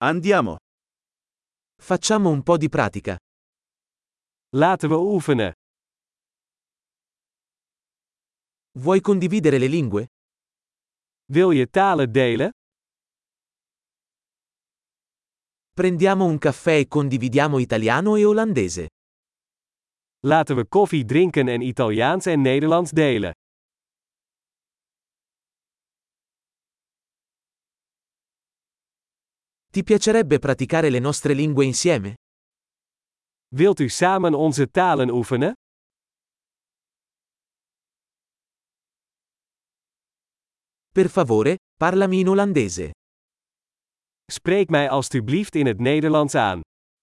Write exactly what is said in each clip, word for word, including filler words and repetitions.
Andiamo. Facciamo un po' di pratica. Laten we oefenen. Vuoi condividere le lingue? Wil je talen delen? Prendiamo un caffè e condividiamo italiano e olandese. Laten we koffie drinken en Italiaans en Nederlands delen. Ti piacerebbe praticare le nostre lingue insieme? Wilt u samen onze talen oefenen? Per favore, parlami in olandese. Spreek mij alstublieft in het Nederlands aan.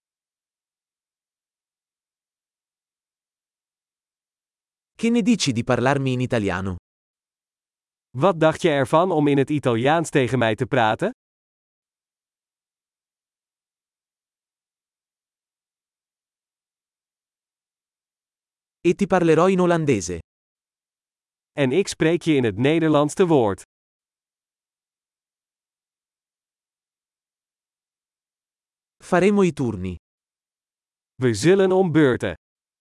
Che ne dici di parlarmi in italiano? Wat dacht je ervan om in het Italiaans tegen mij te praten? E ti parlerò in olandese. En ik spreek je in het Nederlands te woord. Faremo i turni. We zullen om beurten.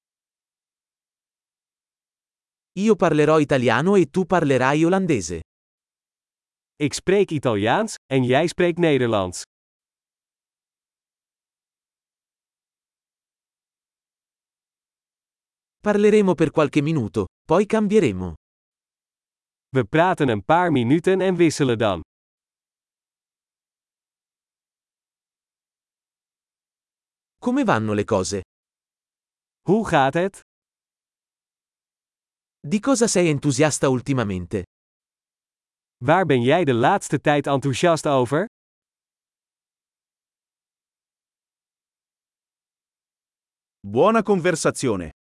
Io parlerò italiano e tu parlerai olandese. Ik spreek Italiaans, en jij spreekt Nederlands. Parleremo per qualche minuto, poi cambieremo. We praten een paar minuten en wisselen dan. Come vanno le cose? Hoe gaat het? Di cosa sei entusiasta ultimamente? Waar ben jij de laatste tijd enthousiast over? Buona conversazione.